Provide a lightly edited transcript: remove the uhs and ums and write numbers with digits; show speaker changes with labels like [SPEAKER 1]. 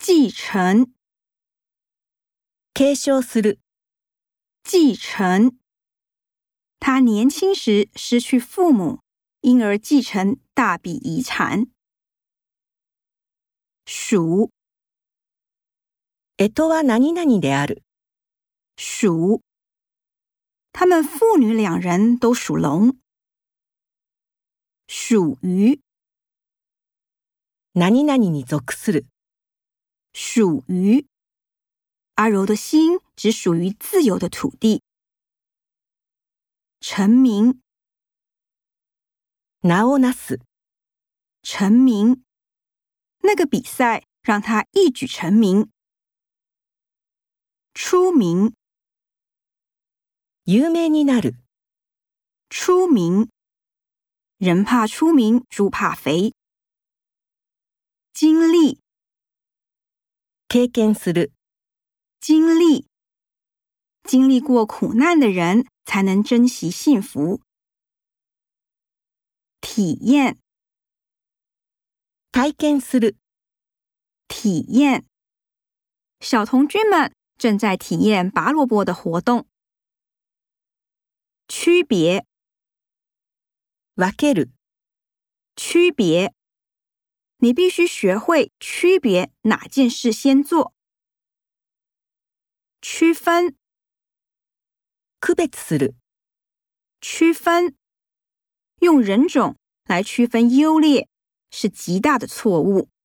[SPEAKER 1] 继承，
[SPEAKER 2] 継承する。
[SPEAKER 1] 继承。他年轻时失去父母，因而继承大笔遗产。属，
[SPEAKER 2] 干支は何々である。
[SPEAKER 1] 属。他们父女两人都属龙。属于，
[SPEAKER 2] 何々に属する。
[SPEAKER 1] 属于。阿柔的心只属于自由的土地。成名，
[SPEAKER 2] 名をなす。
[SPEAKER 1] 成名。那个比赛让他一举成名。出名，
[SPEAKER 2] 有名になる。
[SPEAKER 1] 出名。人怕出名，猪怕肥。经历，
[SPEAKER 2] 経験する。
[SPEAKER 1] 经历。经历过苦难的人才能珍惜幸福。体验，
[SPEAKER 2] 体験する。
[SPEAKER 1] 体验。小童军们正在体验拔萝卜的活动。区别，
[SPEAKER 2] 分ける。
[SPEAKER 1] 区别。你必须学会区别哪件事先做。区分，
[SPEAKER 2] 区別する。
[SPEAKER 1] 区分。用人种来区分优劣是极大的错误。